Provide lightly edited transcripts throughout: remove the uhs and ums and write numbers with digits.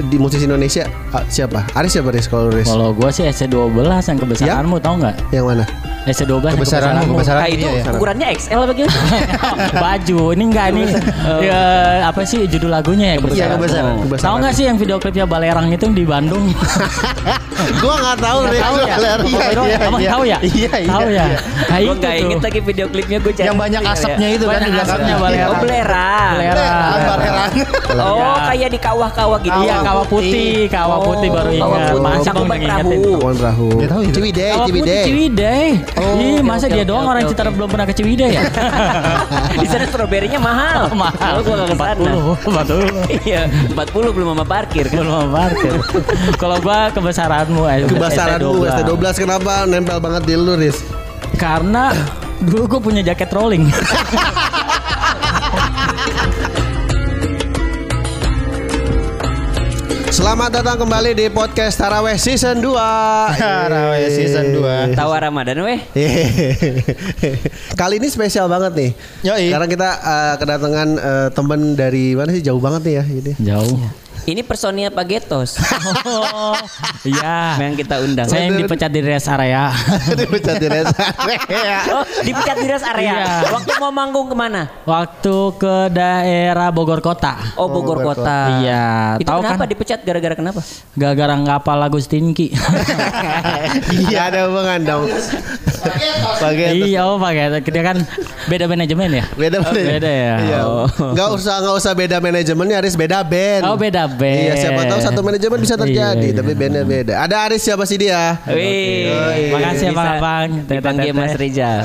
di musisi Indonesia siapa? Aris siapa Riz kalau Riz? Kalau gue sih SC12 yang kebesaranmu tahu nggak? Yang mana? SC12 kebesaranmu. Itu ukurannya XL bagaimana? Baju ini enggak nih. Ya, apa sih judul lagunya ya? Kebesaran. Tahu nggak sih yang video klipnya Balerang itu di Bandung? Gua nggak tahu Riz. Tahu ya? Kamu tahu ya? Iya. Ya. Gue nggak inget lagi video klipnya gue cari. Yang banyak asapnya itu kan di belakangnya. Oh, belerang. Oh, kayak di kawah-kawah gitu. Iya, kawah putih baru ingat. Masa Cakupan belum ingetin. Perahu. Ciwidey. Ih, masa dia doang orang Citarum belum pernah ke Ciwidey ya? Di sana stroberinya mahal. Mahal. Gue nggak kesana. 40. Iya, 40 belum sama parkir kan. Belum parkir. Kalau gua kebesaranmu ST12 kenapa nempel banget di lu Riz? Karena dulu gue punya jaket rolling. Selamat datang kembali di podcast Taraweh Season 2. Taraweh Season 2. Tawa Ramadan weh. Kali ini spesial banget nih. Yoi. Karena kita kedatangan teman dari mana sih, jauh banget nih ya ini. Jauh. Ini personilnya Pak Getos. Oh, iya. Yang kita undang. Saya yang dipecat di rest area. Dipecat di rest area. Oh, dipecat di rest area. Iya. Waktu mau manggung kemana? Waktu ke daerah Bogor Kota. Oh, Bogor Kota. Iya. Itu Tahu kenapa kan? dipecat gara-gara kenapa? Gara-gara nggak hafal lagu Stinky. Iya, ada hubungan dong. Pakai Iya, pakai. Dia kan beda manajemen ya. beda ya. Iya. Nggak usah beda manajemennya, Aris beda band. Oh, beda band. Iya, siapa tahu satu manajemen bisa terjadi, Iya. tapi bandnya beda. Ada Aris siapa sih dia? Wih, Makasih ya, Bang Abang. Dipanggil Mas Rizal.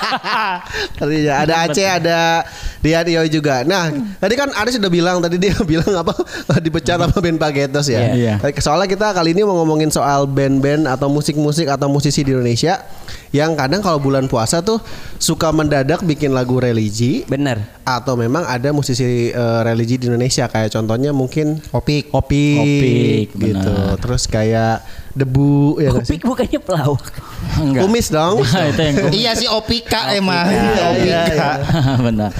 Ada Aceh, ada Dio juga. Nah, tadi kan Aris udah bilang, tadi dia bilang apa dipecat sama band Pak Getos ya. Iya. Soalnya kita kali ini mau ngomongin soal band-band atau musik-musik atau musisi di Indonesia yang kadang kalau bulan puasa tuh suka mendadak bikin lagu religi. Bener. Atau memang ada musisi religi di Indonesia, kayak contohnya mungkin Opik, gitu. benar. Terus kayak Debu ya nggak sih? Opik bukannya pelawak. Enggak. Kumis dong. Itu yang Iya sih Opika emang. Iya. benar.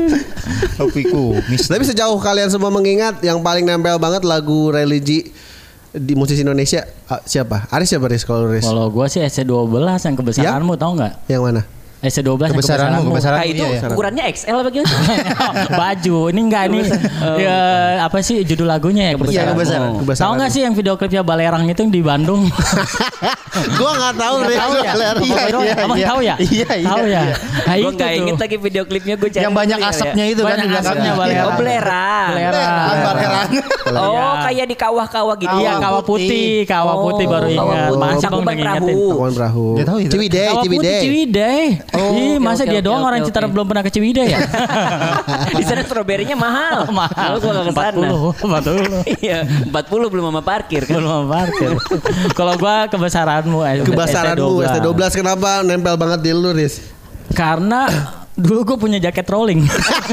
Opiku. Tapi sejauh kalian semua mengingat yang paling nempel banget lagu religi di musisi Indonesia siapa? Aris siapa Riz kalau Riz? Kalau gua sih SC12 yang kebesaranmu tahu nggak? Yang mana? SC12 Kebesaranmu. Nah, itu ukurannya XL bagaimana? Baju ini enggak nih. Ya, apa sih judul lagunya ya? Kebesaran. Tahu nggak sih yang video klipnya Balerang itu yang di Bandung? Gua nggak tahu Riz. Tahu ya? Kamu tahu ya? Iya. Tahu ya? Nah, Gue itu nggak inget tuh. lagi video klipnya gue cari. Yang banyak asapnya itu kan di Banyak asapnya, belakangnya. Oh, belerang. Belerang. Oh, kayak di kawah-kawah gitu. Iya, kawah putih baru ingat. Masa belum Cakupan ingetin. Cakupan Perahu. Dia tahu itu. Kawah putih Ciwidey. Ih, masa dia doang orang Citarum belum pernah ke Ciwidey ya? Di sana stroberinya mahal. Mahal. Gue nggak kesana. 40. Iya, 40 belum sama parkir kan. Belum parkir. Kalau gua kebesaranmu ST12 kenapa nempel banget di lu Riz? Karena dulu gue punya jaket rolling.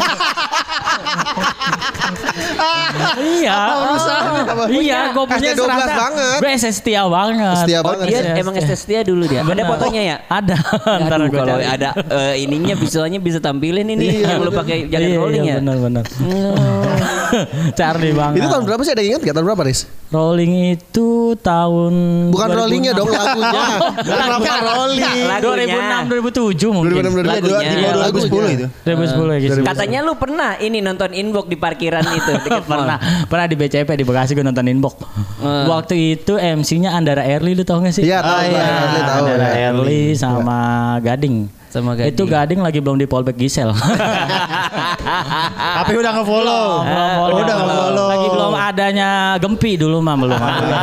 Iya, gue punya ST12 banget. Gue setia banget. Setia Oh, banget. dia emang setia dulu dia. Ada fotonya ya? Ada. Ntar Aduh, gue kalau ada ininya visualnya bisa tampilin ini yang lu pakai jaket rolling ya. Benar. Charlie banget. Itu tahun berapa sih, ada ingat gak tahun berapa Riz? Rolling itu tahun Bukan 2006. rollingnya dong, lagunya. Kenapa rolling? 2006 2007 mungkin. 2006 Lagu 10 itu. 2010 gitu. Katanya lu pernah ini nonton Inbox di parkiran itu dekat mall. Pernah di BCP di Bekasi gue nonton Inbox. Waktu itu MC-nya Andara Erli, lu tau gak sih? Iya, tahu. Tahu. Andara Erli sama Gading. Itu Gading lagi belum di Polbek Gisel. Tapi udah nge-follow. Udah nge-follow. Lagi belum adanya Gempi dulu mah belum ada.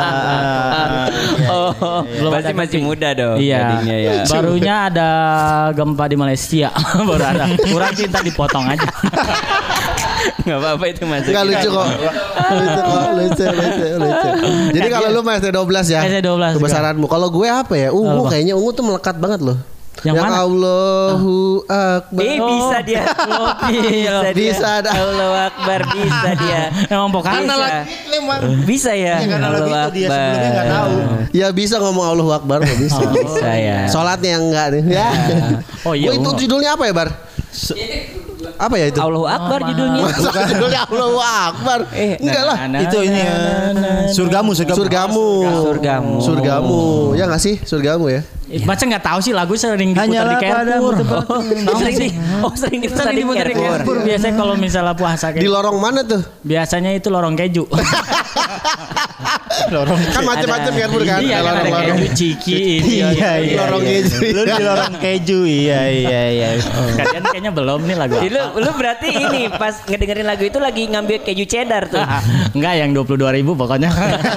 Belum masih muda dong. Iya. Gadingnya ya. Barunya ada gempa di Malaysia. Baru ada. Kurang cinta dipotong aja. Enggak apa-apa itu masuk. Enggak lucu kok. Lucu. Jadi kalau lu mah ST12 ya. ST12 kebesaranmu. Kalau gue apa ya? Ungu kayaknya ungu tuh melekat banget loh. Yang mana? Allahu Akbar. Bisa dia. Bisa. Allahu Akbar bisa dia. Emang pokoknya Bisa ya. Karena lagu itu dia sebelumnya enggak tahu. Ya bisa ngomong Allahu Akbar kok bisa. Bisa ya. Sholatnya yang enggak nih. Ya. Oh iya. Itu judulnya apa ya, Bar? Apa ya itu? Allahu Akbar judulnya. Masa judulnya Allahu Akbar. Enggak lah. Itu ini ya. Surgamu. Surgamu. Ya nggak sih? Surgamu ya. Baca nggak tahu sih lagu sering diputar di Carrefour. Sering diputar di Carrefour. Biasanya kalau misalnya puasa Di lorong mana tuh? biasanya itu lorong keju. Kan macam-macam Carrefour kan. Iya, kan ada keju ciki. Iya. Lorong keju. Lu di lorong keju. Iya. Kalian kayaknya belum nih lagu. Lu berarti ini pas ngedengerin lagu itu lagi ngambil keju cheddar tuh. Enggak, yang 22.000 pokoknya.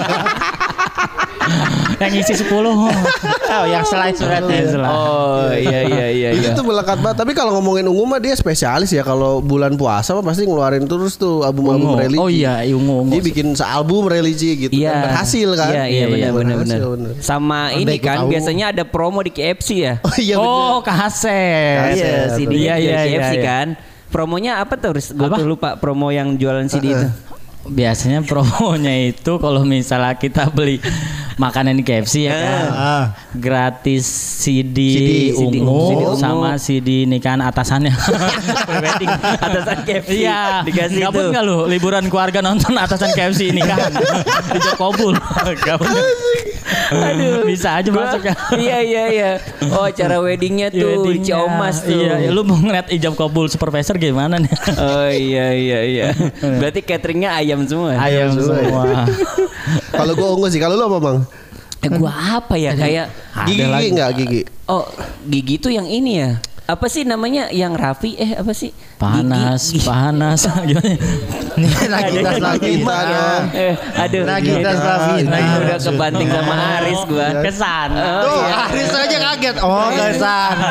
Yang isi 10. Oh, yang slice berarti. Oh iya. Itu melekat banget. Tapi kalau ngomongin Ungu mah dia spesialis ya. Kalau bulan puasa mah pasti ngeluarin terus tuh album-album religi. Oh iya, Ungu. Dia bikin sealbum religi gitu. Iya. Dan berhasil kan. Iya benar. Bener. Sama ini kan biasanya ada promo di KFC ya. Oh iya bener. Oh, kaset. Iya, CD Iya, di KFC iya. kan. Promonya apa tuh? Gue tuh lupa promo yang jualan CD itu. Biasanya promonya itu kalau misalnya kita beli makanan di KFC ya kan, gratis CD ungu sama CD nikahan atasannya. Prewedding atasan KFC. Iya, dikasih gabut itu. nggak lu liburan keluarga nonton atasan KFC nikahan di Jokobul? Gabut. Aduh, bisa aja masuk ya. Iya. Oh, acara weddingnya tuh di Ciomas tuh. Iya, lu mau ngeliat ijab kabul supervisor gimana nih? Oh iya. Berarti cateringnya ayam semua. Ayam semua. Kalau gue Ungu sih. Kalau lu apa Bang? Gua apa ya kayak Gigi enggak Gigi? Oh, Gigi tuh yang ini ya. Apa sih namanya yang Raffi apa sih? Panas. Gimana? Nagitas Lavina. Aduh. Nagitas Lavina. Udah kebanting sama Aris gua. Kesana. Tuh, Aris aja kaget. Oh, ke sana.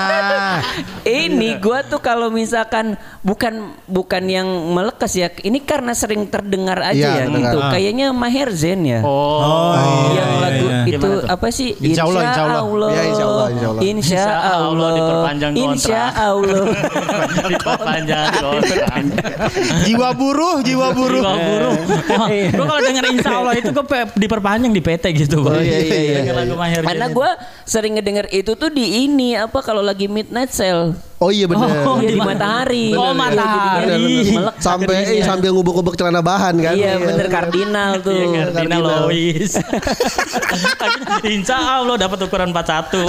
Ini gua tuh kalau misalkan bukan yang melekas ya. Ini karena sering terdengar aja Iya, ya terdengar. gitu. Kayaknya Maher Zain ya. Oh, Yang lagu iya. itu Gimana tuh? apa sih? Insya Allah. Ya, insya Allah. Insya Allah. Diperpanjang kontrak. Insya Allah. Diperpanjang kontrak. Jiwa buruh. Jiwa buruh. Gue kalau denger insya Allah itu gue diperpanjang di PT gitu. Oh, iya. Denger lagu Maher Karena Zain. gue sering ngedenger itu tuh di ini apa kalau lagi midnight sale. Oh iya benar. Oh, Iya di Bener. Matahari. Oh, Matahari. Melek Sambil ngubek-ngubek celana bahan kan. Iya bener kardinal tuh. Iya, Kardinal Lois. Insya Allah dapat ukuran 41.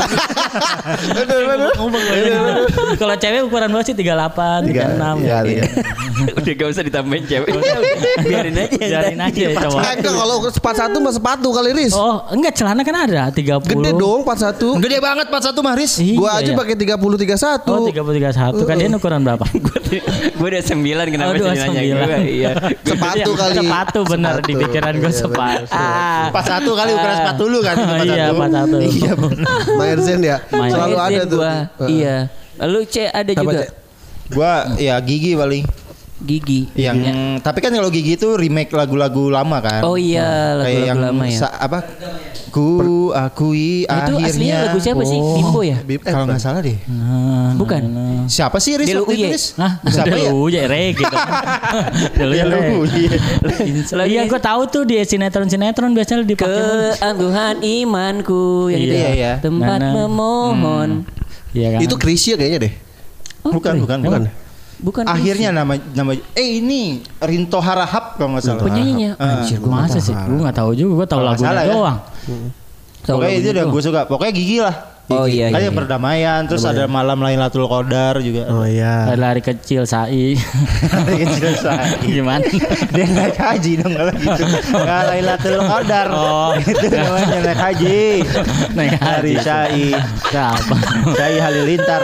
Kalau cewek ukuran berapa sih? 38, 36. Iya. Udah gak usah ditambahin cewek. Biarin aja. Biarin aja coba. Enggak kalau 41 mah sepatu kali Riz. Oh, enggak celana kan ada 30. Gede dong 41. Gede banget 41 Maris. Iya, Gua aja iya. pakai 30 31. Oh, 30 31 kan dia ukuran berapa? Gue udah 9 kenapa Oh, sih nanya gue? Iya. Sepatu kali. Sepatu bener di Sepatu. pikiran gue Iya, sepatu. 41 kali ukuran sepatu lu kan. Iya, 41. Iya. Maher Zain ya. Maher Selalu ada tuh. Gua. Iya. Lalu C ada Apa, juga. Cek? Gua ya Gigi paling. Gigi. Yang tapi kan kalau Gigi itu remake lagu-lagu lama kan. Oh iya, Kayak yang lagu-lagu lama ya. apa? Ku akui Itu aslinya akhirnya. lagu siapa sih? Bimbo ya? Kalau nggak salah deh. Bukan. Siapa sih Riz? Delu waktu itu, Uye. Riz? Hah? Siapa ya? Dulu ya reggae dong. Dulu ya reggae. Iya, gue tahu tuh di sinetron biasanya dipakai. Keangguhan imanku yang itu Iya, ya. iya. Tempat Nana. memohon. Iya kan? Itu Krisya kayaknya deh. Bukan. Bukan Akhirnya nama ini Rinto Harahap kalau nggak salah. penyanyinya. Anjir, gue masa sih? Gue nggak tahu juga. Gue tahu Kalau nggak lagunya salah ya. doang. Pokoknya itu udah gue suka. Pokoknya Gigi lah. Oh iya. Kan iya. yang perdamaian, terus ada malam Lailatul Qadar juga. Oh iya. Lari kecil Sai. Kecil saya. Gimana? Dia naik haji dong kalau gitu. Nggak Lailatul Qadar. Oh. Itu namanya naik haji. Naik Hari haji. Syai. Siapa? Syai Halilintar.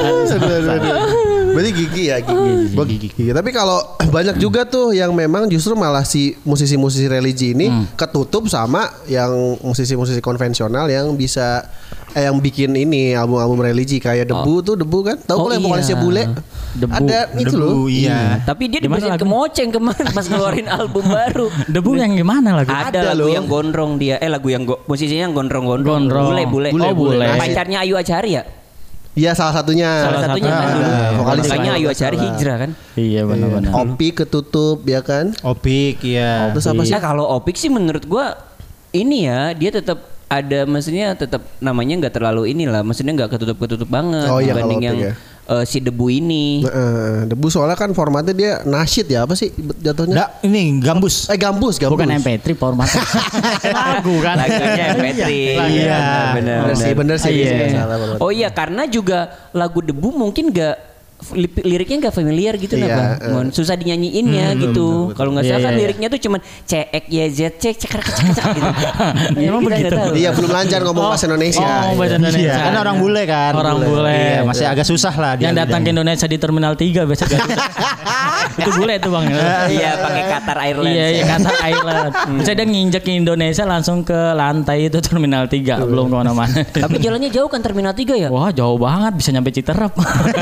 Berarti Gigi ya Gigi. Gua Gigi. Gigi. Tapi kalau banyak juga tuh yang memang justru malah si musisi-musisi religi ini ketutup sama yang musisi-musisi konvensional yang bisa yang bikin ini album-album religi kayak Debu tuh Debu kan tahu kalau yang vokalisnya bule Debu. ada itu loh. Iya. Tapi dia Di mana dibesit lagu? ke Moceng kemarin pas ngeluarin album baru. Debu yang gimana lagu? Ada lagu loh. yang gondrong dia. Lagu yang musisinya yang gondrong-gondrong. Gondrong. Bule. Oh, bule. Pacarnya Ayu Achari ya? Iya salah satunya. Salah satunya kan ada. dulu. Vokalis Makanya lain. Ayu Achari hijrah kan. Iya benar-benar. Opi ketutup ya kan. Opik ya. Terus apa sih? Ya kalau Opik sih menurut gua ini ya dia tetap ada maksudnya tetap namanya nggak terlalu inilah maksudnya nggak ketutup banget Oh iya, kalau dibanding Opik yang ya. si debu ini. Debu soalnya kan formatnya dia nasyid ya apa sih jatuhnya? Nggak, ini gambus. Gambus. Bukan MP3 formatnya. Lagu kan. Lagunya MP3. Iya. Bener sih. Iya. Oh iya, karena juga lagu debu mungkin liriknya nggak familiar gitu Iya, Bang. Susah dinyanyiinnya gitu. Kalau nggak salah kan liriknya tuh cuman CXYZ cekar gitu. Emang begitu? Iya, belum lancar ngomong bahasa Indonesia. Oh, bahasa Indonesia. Iya, kan orang bule kan. Orang bule. Iya, masih agak susah lah dia. Yang datang ke Indonesia di Terminal 3 biasa Garuda. Itu bule itu Bang. Iya, pakai Qatar Airlines. Iya, Qatar Island. Misalnya dia nginjek ke Indonesia langsung ke lantai itu Terminal 3, belum kemana-mana. Tapi jalannya jauh kan Terminal 3 ya? Wah, jauh banget, bisa nyampe Citerep.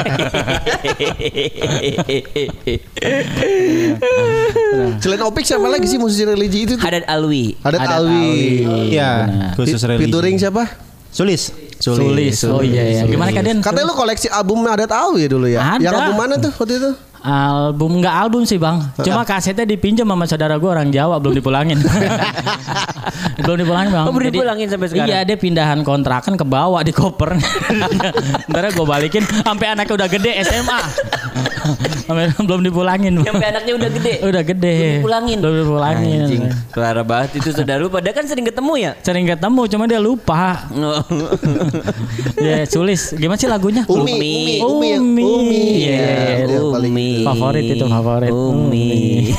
Selain Opik siapa lagi sih musisi religi itu? Haddad Alwi. Haddad Alwi. Iya, khusus religi. Featuring siapa? Sulis. Oh iya. Gimana kalian? Katanya lu koleksi album Haddad Alwi dulu ya? Ada. Yang album mana tuh waktu itu? Album nggak album sih Bang, cuma kasetnya dipinjam sama saudara gue orang Jawa, belum dipulangin. Belum dipulangin Bang. Oh, belum dipulangin sampai sekarang? Iya, dia pindahan kontrakan ke bawah di koper. Ntar gue balikin sampai anaknya udah gede SMA. Belum dipulangin. Sampai anaknya udah gede. Udah gede. Belum dipulangin. Anjing, parah banget itu saudara lu. Padahal kan sering ketemu ya? Sering ketemu, cuma dia lupa. Ya, Sulis. Gimana sih lagunya? Umi. Iya, Umi. Favorit itu favorit. Umi.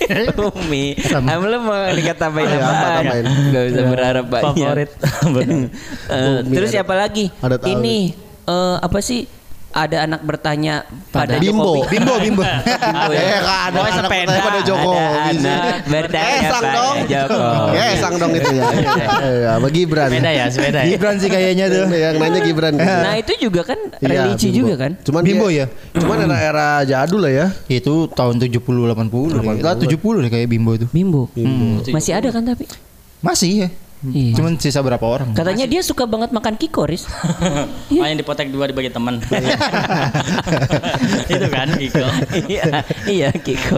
Lu mau dikatakan apaan? Gak bisa berharap banyak. Favorit. Terus siapa lagi? Haddad Alwi. Ini apa sih? Ada anak bertanya pada Bimbo. Jokowi. Bimbo. Ada Oh, anak sepeda. bertanya pada Jokowi. Anak bertanya Sang pada dong. Jokowi. Sang dong itu ya. Ya, bagi Gibran. Sepeda ya. Gibran sih kayaknya tuh. Yang nanya Gibran. Nah itu juga kan religi Bimbo. juga kan? Cuman Bimbo dia- ya? Cuman era jadul lah ya. Itu tahun 70 80. Lah 70 deh kayak Bimbo itu. Bimbo. Masih ada kan tapi? Masih ya. Iya. Cuman sisa berapa orang? Katanya dia suka banget makan kikoris. Main dipotek 2 dibagi teman. Itu kan Kiko. Iya Kiko.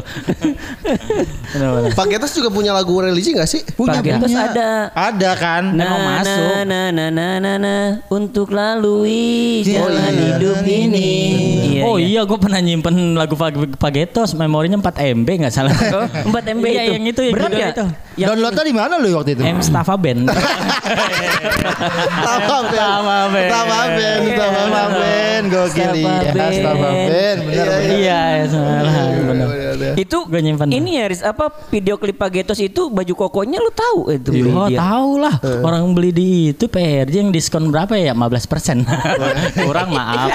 Pak Getas juga punya lagu religi gak sih? Punya. Terus ada Ada kan? Emang masuk. untuk lalui jalan hidup ini. Oh iya, gue pernah nyimpen lagu Pagetos, memorinya 4 MB nggak salah. 4 MB Iya, itu. yang itu yang Berat judul ya? itu. Downloadnya di mana lu waktu itu? M Staffa Band. Sama Ben. Gokil Ya, Staffa Band. Bener. Iya, salah. Bener. Itu Gue nyimpen. ini ya Riz, apa video klip Pagetos itu baju kokonya lu tahu itu beli Oh dia. tahu lah, orang beli di itu PRJ yang diskon berapa ya? 15%. Kurang maaf.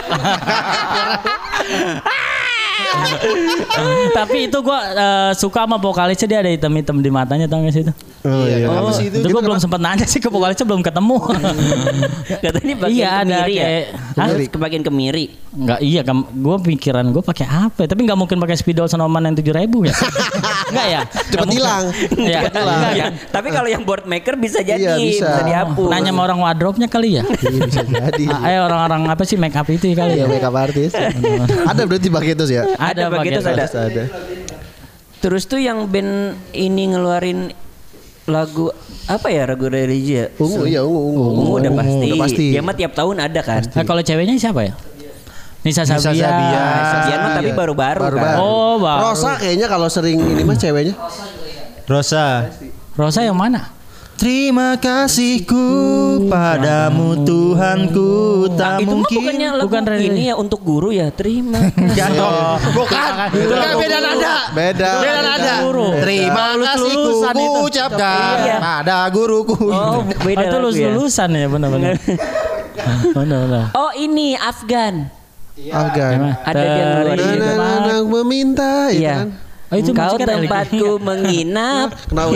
Tapi itu gue suka sama vokalisnya, dia ada hitam-hitam di matanya, tau gak sih itu? Oh iya. Apa sih itu? Itu gue belum sempat nanya sih ke vokalisnya, belum ketemu. Katanya bagian Iya, ada kemiri ya. kayak- Hah? Kemiri. Kebagian kemiri. Enggak, iya gue pikiran gue pakai apa ya? Tapi nggak mungkin pakai spidol Sonoman yang 7.000 ya? Enggak ya? Cepet hilang. Iya, Iya, enggak ya? Tapi kalau yang board maker bisa jadi, Iya, bisa. dihapus. Nanya sama orang wardrobe-nya kali ya? Iya, bisa jadi. Orang-orang apa sih make up itu kali Iya, ya? makeup artist. Ada berarti Pak Getas ya? Ada begitu Pagetos. ada. Terus tuh yang band ini ngeluarin lagu apa ya, lagu religi ya? Ungu. Ungu udah pasti. Udah pasti. Dia mah tiap tahun ada kan. Nah, kalau ceweknya siapa ya? Nisa Nisa Sabia. Sabia. Dia mah tapi baru-baru kan. Oh, baru. Rosa kayaknya kalau sering ini mah ceweknya. Rosa. Rosa yang mana? Terima kasihku padamu Tuhanku, tak Itu mah mungkin. bukannya lagu Bukan religi. ini ya untuk guru ya. Terima. Enggak dong. Bukan. Bukan, beda nada. Beda. Beda nada. Guru. Terima kasihku Lulusan itu. ku ucapkan Iya. pada guruku. Oh, beda itu lagu ya. lulusan ya, benar-benar. Benar-benar. Oh, ini Afgan. Afgan. Ada dia ngeluarin juga. Anak meminta itu Iya. kan. Oh, itu Kau musiknya religi. tempatku menginap. Kenapa?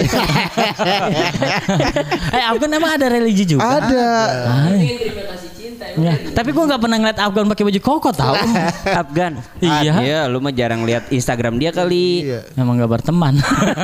Afgan emang ada religi juga? Ada. Ya. Tapi gue nggak pernah ngeliat Afgan pakai baju koko tau. Afgan. Iya. Iya, lu mah jarang lihat Instagram dia kali. Iya. Emang gak berteman.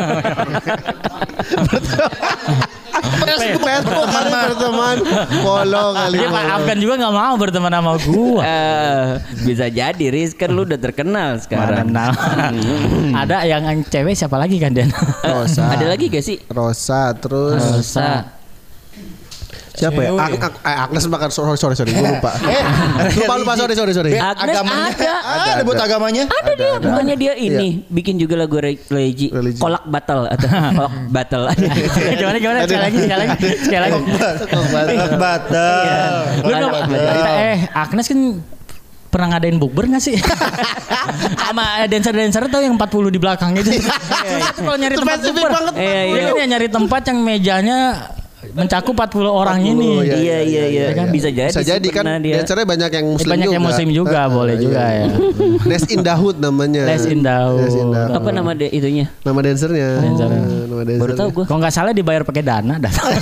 Facebook kali berteman. Follow kali. Dia Pak follow. Afgan juga gak mau berteman sama gua. Bisa jadi Riz, kan lu udah terkenal sekarang. Mana ada yang cewek siapa lagi kan Dan? Rosa. Ada lagi gak sih? Rosa terus Rosa. Siapa ya? Agnes bahkan sorry gue lupa. Lupa sorry. Agnes ada buat agamanya. Ada dia, makanya dia ini bikin juga lagu religi. Kolak batal atau kolak batal. Gimana sekali lagi. Kolak batal. Agnes kan pernah ngadain bukber gak sih? Sama dancer tau yang 40 di belakang itu. Kalau nyari tempat bukber. Dia kan nyari tempat yang mejanya mencakup 40 orang ini. Iya kan bisa jadi kan dancernya banyak yang muslim banyak juga. Yang muslim juga boleh juga ya. Les in Dahud namanya. Les in Dahud. Apa nama itunya? Nama dancernya. Nama dancernya. Baru tahu gue. Kalau nggak salah dibayar pakai dana.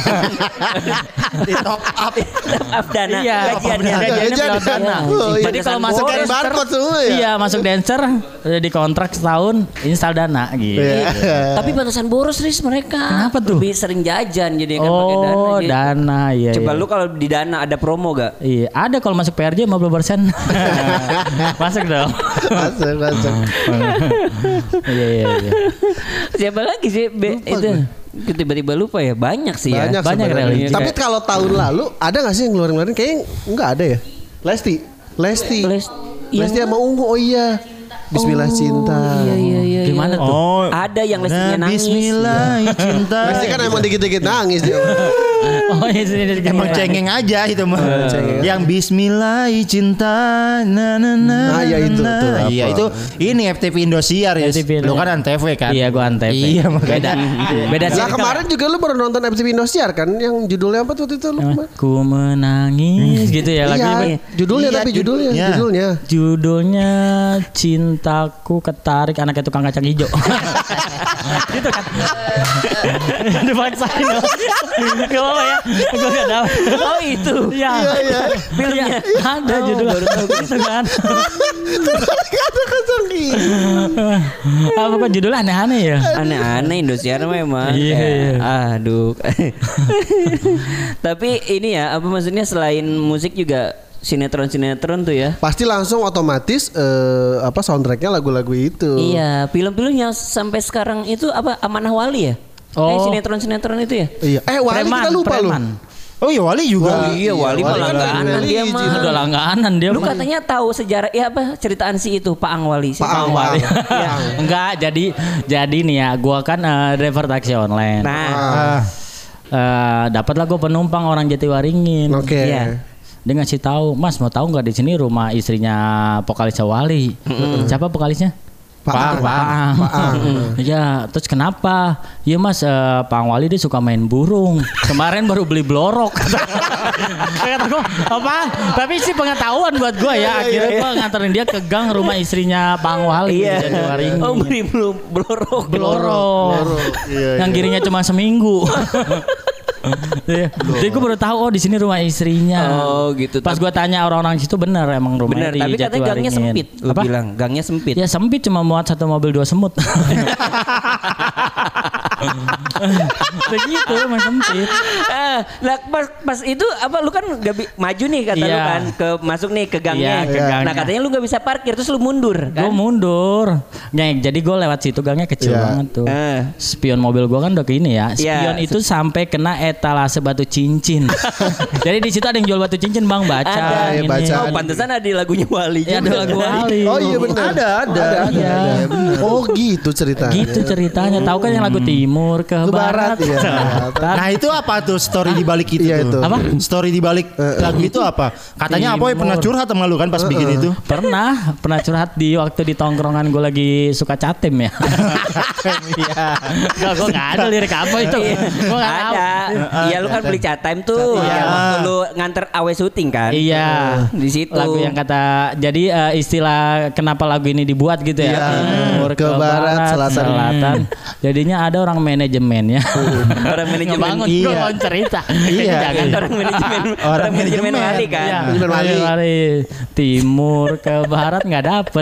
Di top up dana. Iya, gajiannya lewat dana. Jadi kalau masuk barcode semua ya. Iya, masuk dancer di kontrak setahun install dana gitu. Tapi batasan boros Riz mereka. Kenapa tuh? Lebih sering jajan jadi kan pakai dana. Oh, gitu. dana iya. Coba lu kalau di dana ada promo gak? Iya, ada kalau masuk PRJ 50%. Masuk dong. Masuk. Iya. Siapa lagi sih itu? Tiba-tiba lupa ya. Banyak sih ya. Banyak religi. Tapi kalau tahun lalu ada gak sih yang ngeluarin kayaknya enggak ada ya. Lesti sama Ungu. Oh iya. Bismillah cinta. Iya. Gimana tuh? Oh, ada yang Lestinya nangis. Bismillah cinta. Lesti kan emang dikit-dikit nangis dia. Oh iya sini. Emang cengeng aja itu mah. Yang Bismillah cinta Nah ya itu tuh. Iya itu ini FTV Indosiar ya. Lu kan Antv kan? Iya gua Antv. Iya makanya. Beda Nah kemarin juga lu baru nonton FTV Indosiar kan yang judulnya apa tuh itu lu? Ku menangis gitu ya lagunya. Judulnya Cintaku Ketarik Anaknya Tukang Kacang Hijau. Gitu kan. Dipaksain dong. Gak apa ya. Gue gak tahu. Oh itu. Iya. Filmnya ada judulnya. Gitu kan. Apa kok judulnya aneh-aneh ya? Aneh-aneh Indosiar memang. Iya. Aduh. Tapi ini ya apa maksudnya selain musik juga sinetron tuh ya. Pasti langsung otomatis soundtracknya lagu-lagu itu. Iya, film-film yang sampai sekarang itu apa Amanah Wali ya? Sinetron itu ya? Iya. Wali kita lupa lu. Oh iya Wali juga. Wali mah langganan dia mah. Udah langganan dia. Lu katanya tahu sejarah ceritaan si itu Pak Ang Wali. Pak Ang Wali. Enggak, jadi nih ya, gua kan driver taksi online. Nah. Dapatlah gua penumpang orang Jatiwaringin. Oke. Iya. Dia ngasih tahu, Mas mau tahu nggak di sini rumah istrinya vokalisnya Wali? Siapa vokalisnya? Pak Ang. Iya, terus kenapa? Iya Mas, Pak Ang Wali dia suka main burung. Kemarin baru beli blorok. Kata gue, apa? Tapi sih pengetahuan buat gue ya. Akhirnya gue nganterin dia ke gang rumah istrinya Pak Ang Wali. Iya. Oh beli blorok. Yang kirinya cuma seminggu. Jadi gue baru tahu di sini rumah istrinya. Oh gitu. Pas gue tanya orang-orang situ benar emang rumahnya di tapi katanya gangnya sempit. Lu bilang gangnya sempit. Ya sempit cuma muat satu mobil 2 semut. Begitu emang sempit. Nah pas itu apa lu kan gak maju nih kata lu kan masuk nih ke gangnya. Nah katanya lu gak bisa parkir terus lu mundur kan? Gue mundur. Jadi gue lewat situ gangnya kecil banget tuh. Spion mobil gue kan udah ke ini ya. Spion itu sampai kena etalase batu cincin. Jadi di situ ada yang jual batu cincin Bang baca. Ada, baca. Oh pantesan ada lagunya Wali juga. Ada lagu Wali. Oh iya benar. Ada. Oh gitu ceritanya. Gitu ceritanya. Tahu kan yang lagu Timur ke Barat. Iya. Nah itu apa tuh story di balik itu? Iya, tuh? itu. Apa? Story di balik lagu itu apa? Katanya apa? Pernah curhat sama lu kan pas bikin itu? Pernah curhat di waktu di tongkrongan gue lagi suka catem ya. Iya. Gue nggak ada lirik apa itu. Gue nggak tahu. Iya lu kan beli chat time tuh. Iya. Waktu lu nganter awe syuting kan. Iya. Di situ. Lagu yang kata jadi istilah kenapa lagu ini dibuat gitu ya. Timur ke barat, selatan. Jadinya ada orang manajemennya. Orang manajemen. Ngebangun Iya. gue cerita. Iya. Jangan Orang manajemen Wali kan. Iya. Wali. Timur ke barat nggak dapet.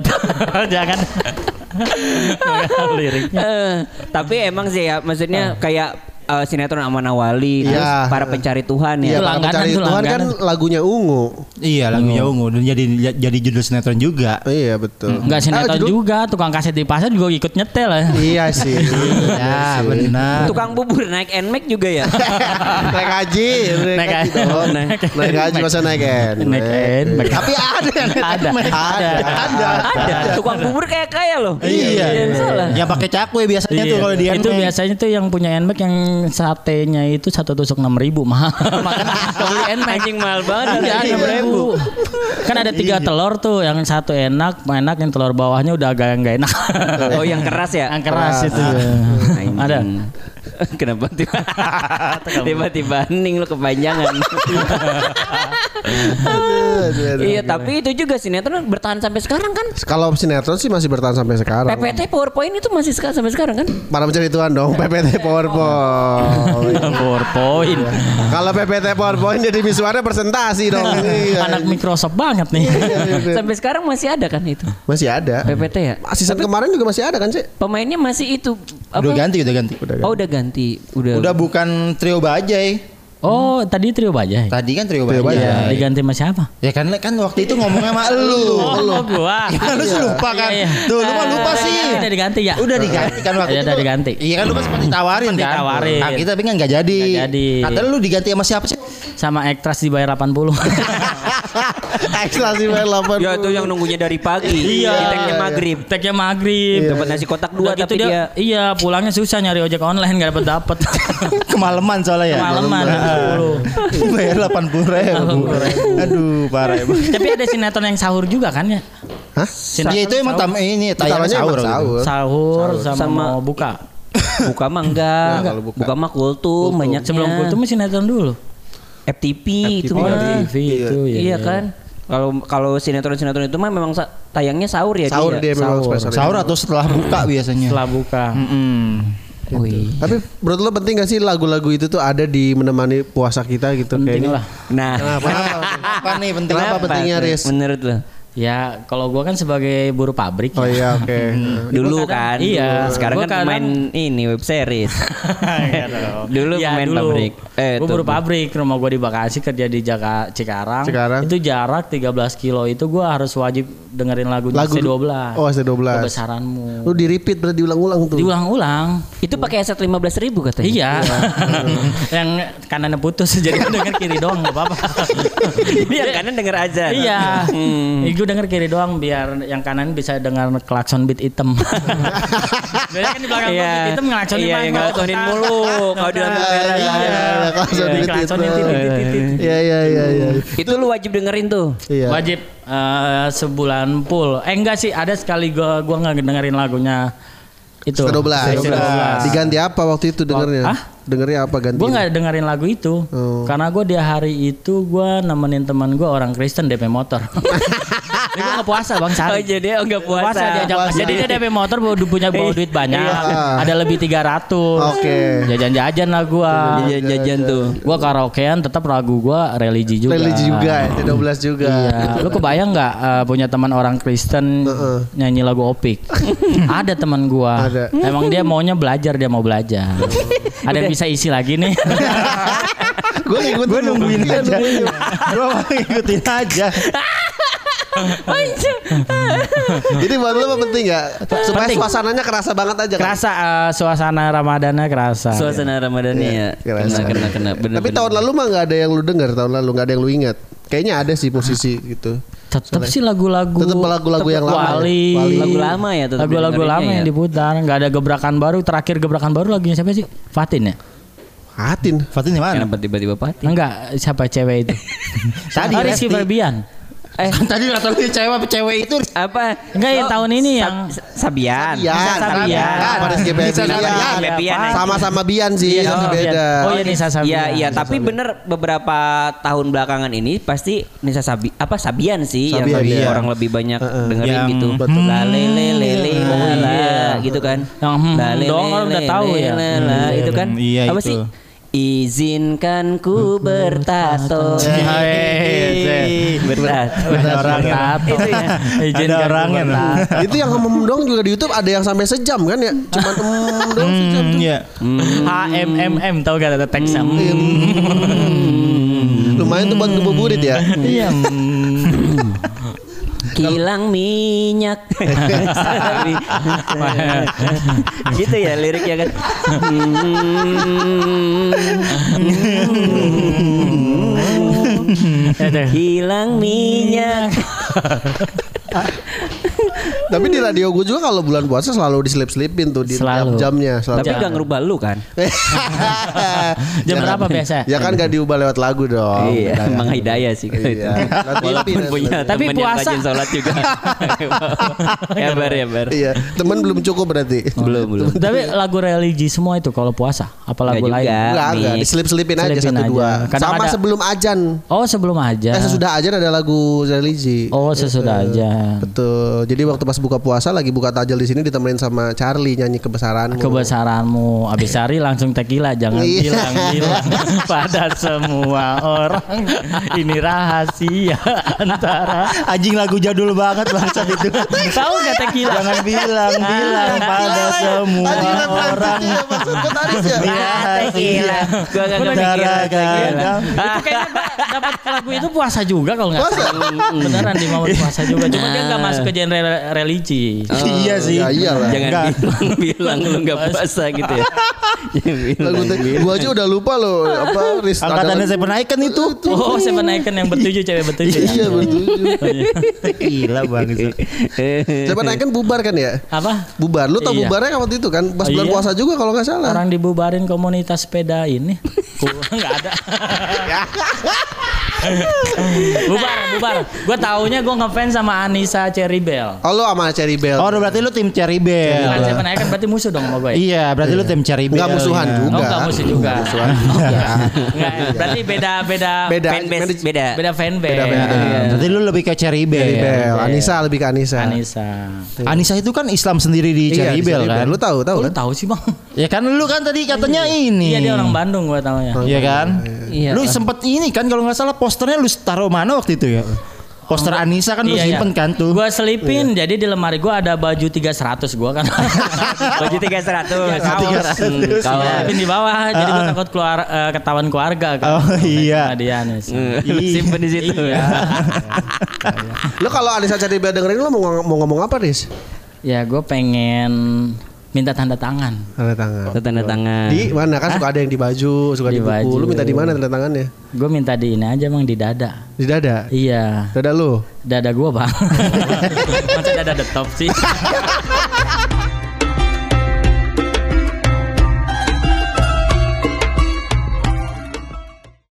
Jangan. Liriknya. Tapi emang sih ya maksudnya kayak sinetron Aman Awali, terus Iya. Para Pencari Tuhan Iya, ya. Para langganan Pencari tuh, Tuhan kan langganan. lagunya Ungu. Iya, lagunya Ungu dan jadi judul sinetron juga. Iya betul. Enggak sinetron judul- juga, tukang kaset di pasar juga ikut nyetel ya. Iya sih. Ya, benar. Tukang bubur naik NMAX juga ya. Naik haji, Naik haji. dong. Naik haji masa naik Naik Tapi ada yang ada. Tukang bubur kaya loh. Iya. Jangan salah. Yang pakai cakwe biasanya tuh kalau di itu NMAX. biasanya tuh yang punya NMAX yang satenya itu 1 tusuk 6.000 mahal. Makanya kalau beli NMAX Anjing mahal banget. Iya, 6.000. Kan ada 3 telur tuh, yang satu enak, yang telur bawahnya udah agak nggak enak. Oh yang keras ya? Yang keras itu. Anjing. Ada. Kenapa tiba-tiba hening lu kepanjangan. Iya tapi itu juga sinetron bertahan sampai sekarang kan. Kalau sinetron sih masih bertahan sampai sekarang. PPT PowerPoint itu masih sampai sekarang kan. Para Pencari Tuhan dong, PPT PowerPoint. PowerPoint. Kalau PPT PowerPoint jadi visualnya presentasi dong. Iya. Anak Microsoft banget nih. Sampai sekarang masih ada kan itu Masih ada. PPT ya. Season kemarin juga masih ada kan sih? Pemainnya masih itu apa? Udah ganti. Oh udah ganti. Udah bukan trio Bajai. Oh, tadi trio Bajai. Tadi kan trio Trio Bajai. Bajai. Diganti sama siapa? Ya kan waktu itu ngomongnya sama lu. Oh, gua. Ya lu sih lupa kan. Iya, iya. Tuh lu mah lupa sih. Udah diganti ya? Udah diganti kan waktu Iya, itu. udah diganti. Iya kan lu pas sempat ditawarin Sempat kan. ditawarin. Nah, kita tapi kan enggak jadi. Nggak jadi. Kata lu diganti sama siapa sih? Sama Ektras dibayar 80. Ekstra sih main 8. Ya itu yang nunggunya dari pagi. Di tagnya maghrib. Tagnya maghrib. Dapat nasi kotak 2 Udah gitu tapi dia iya pulangnya susah nyari ojek online nggak dapet. Kemalaman soalnya ya. Kemalaman. Bayar 80.000. Aduh, parah emang. Tapi ada sinetron yang sahur juga kan ya? Hah? Ya itu emang ini tayangnya Utamanya sahur. emang sahur. Sahur sama Sama- mau buka. buka mah enggak. Kalau buka. Buka mah kultum banyaknya. Sebelum kultum sinetron dulu. FTP itu mah. TV itu ya. Iya kan. Kalau sinetron itu mah memang tayangnya sahur ya Sahur dia memang Sahur. spesial. Sahur atau setelah buka biasanya. Setelah buka. Wih. Tapi menurut lo penting gak sih lagu-lagu itu tuh ada di menemani puasa kita gitu Penting kayaknya? lah. Nah, Apa nih penting? Kenapa pentingnya, Riz? menurut lo? Ya kalau gua kan sebagai buruh pabrik. Oh iya oke. Dulu Gua kan. iya. Sekarang Gua kan pemain ini web series. Dulu Ya, pemain dulu. pabrik. Gue buruh pabrik, rumah gue di Bekasi, kerja di Cikarang. Cikarang. Itu jarak 13 kilo itu gue harus wajib dengerin lagunya Lagu C12. Oh C12. Kebesaranmu. Lu di repeat berarti diulang-ulang tuh. Diulang-ulang. Itu pakai aset 15.000 katanya. Iya. Yang kanannya putus jadi gue denger kiri doang enggak apa-apa. Yang kanan denger aja. Iya. Gue denger kiri doang biar yang kanan bisa dengar klakson beat hitam. Biasanya kan di belakang gua beat hitam ngelaksonin Iya, yang ngelaksonin mulu. Kalau di lampu merah. Iya, klakson beat Klaksonin hitam. titit. Iya iya. Itu lu wajib dengerin tuh. Iya. Wajib sebulan full. Enggak sih, ada sekali gua nggak dengerin lagunya itu. C12. C12. Diganti apa waktu itu dengernya? Hah? Dengernya apa ganti? Gue nggak dengerin lagu itu, karena gue di hari itu gue nemenin teman gue orang Kristen DP motor. Jadi gue nggak puasa bang Oh Sari. jadi nggak puasa. Diajak. Puasa. Jadi dia DP motor bawa duit banyak, ada lebih 300. Oke. Jajan-jajan lah gue. Jajan tuh. Gue karaokean tetap lagu gue religi juga. Religi juga, C12 juga. Iya. Lu kebayang nggak punya teman orang Kristen nyanyi lagu Opik? Ada teman gua. Ada. Emang dia maunya belajar, dia mau belajar. Ada yang bisa isi lagi nih. Gue nungguin aja. Gue ngikutin aja. Jadi buat lo apa penting gak? Supaya Penting. suasananya kerasa banget aja kan? Kerasa suasana Ramadannya kerasa. Suasana Ramadannya ya. kerasa. Kena. Bener, Tapi tahun lalu mah gak ada yang lu denger. Tahun lalu gak ada yang lu ingat. Kayaknya ada sih musisi gitu. Tetap sih lagu-lagu. Tetep lagu-lagu yang lama. Wali. Lagu lama ya tetep Lagu-lagu dengerinnya lama ya. yang diputar. Gak ada gebrakan baru. Terakhir gebrakan baru lagunya siapa sih? Fatin ya? Hatin. Fatin di mana? Kenapa tiba-tiba pati? Enggak, siapa cewek itu? Tadi Rizky Resti. Febian. Kan tadi nggak tahu cewek itu Apa? Enggak, yang tahun ini yang Sabian. Sabian. Sama Rizky Febian. Febian. Sama Bian sih. Iya, Tapi sama beda. Bian. Oh iya Nisa Sabian. Iya, tapi bener beberapa tahun belakangan ini pasti Nisa Sabian sih Sabian, yang iya. orang lebih banyak dengerin Yang gitu. betul. La le le le le la la gitu kan. Yang La le dong, le orang udah le tahu le ya. la la, itu kan. Iya, Apa itu. sih? Izinkan ku bertato. Bertato. Itu ya. Ada orangnya. Itu yang ngomong dong juga di YouTube ada yang sampai sejam kan ya? Cuma dong sejam tuh. Iya. HMMM tahu gak ada teksnya? Lumayan tuh buat ngebuburit ya. Iya. Kilang minyak. Gitu ya liriknya kan. Hilang minyak. Tapi di radio gue juga kalau bulan puasa selalu diselip-selipin tuh di Selalu. jam-jamnya. Tapi gak ngerubah lu kan? Jam berapa biasa? Ya kan gak diubah lewat lagu dong. Iya, Mang Hidayah sih kalau itu. Walaupun punya Tapi temen yang puasa- rajin sholat juga. Ya bar. Iya, teman belum cukup berarti. Belum. Tapi lagu religi semua itu kalau puasa, apa lagu Nggak lain? juga. Enggak, Mix. diselip-selipin aja Selipin satu aja. dua. Kadang Sama ada- sebelum azan. Oh sebelum aja. Sesudah azan ada lagu religi. Oh sesudah aja. Betul. Jadi waktu pas buka puasa lagi buka tajil di sini ditemenin sama Charlie nyanyi kebesaranmu. Kebesaranmu. Abis cari langsung tequila. Jangan Iya. bilang pada semua orang. Ini rahasia antara. Anjing lagu jadul banget bangsat itu. Tahu gak tequila? Jangan bilang pada semua orang. Maksudnya tadi ya. Tequila. Gua gak kepikiran Gara-gara. tequila. Itu kayaknya gua dapat lagu itu puasa juga kalau nggak salah. Beneran di momen puasa juga. Cuma dia nggak masuk ke genre religi. Iya sih. Ya iyalah. Jangan Enggak. bilang lu gak puasa gitu ya. Lagu gua aja udah lupa loh apa Riz. Angkatannya saya pernah ikan itu. Oh, Seven Icon yang bertujuh, cewek bertujuh. Iya betul. Gila bangsat. Siapa naikkan bubar kan ya? Apa? Bubar. Lu tau Iya. bubarnya kan waktu itu kan? Pas bulan Iya. puasa juga kalau nggak salah. Orang dibubarin komunitas sepeda ini. Nggak ada. bubar. Gue taunya gue ngefans sama Anissa Cherry Bell. Oh lu sama Cherry Bell. Oh, berarti lu tim Cherry Bell. Bukan Seven Icon berarti musuh dong sama gue. Iya, berarti lu tim Cherry Bell. Nggak musuhan ya. juga. Oh enggak musuh juga. Musuhan. Enggak, berarti beda Beda. Fanbase beda. beda fanbase. Beda fanbase. Nah, berarti lu lebih ke Cherry Bell. Cherry Bell. Iya. Anissa lebih ke Anissa. Anissa. Anissa itu kan Islam sendiri di Iya, Cherry di Bell Cherry kan. Lu tahu Oh, lu kan? tahu sih bang? Ya kan lu kan tadi katanya ini. Iya dia orang Bandung gue taunya. Iya kan? Iya. Lu sempet ini kan kalau nggak salah posternya lu taruh mana waktu itu ya? Poster Anissa kan lu simpen kan tuh. Gue selipin, jadi di lemari gue ada baju 300 gue kan. Baju 300. Kaos. Kaos. Selipin di bawah, jadi gue takut keluar ketahuan keluarga kan. Oh, iya. Sama dia Anis. Simpen di situ ya. Lu kalau Anissa Cherry Bell dengerin lu mau ngomong apa, Riz? Ya gue pengen minta tanda tangan. Tanda tangan. Tanda tangan. Di mana kan suka ada yang di baju, suka di, Di buku. baju. Lu minta di mana tanda tangannya? Gue minta di ini aja bang, di dada. Di dada. Iya, Dada lu. dada gue bang. Masa dada the top sih?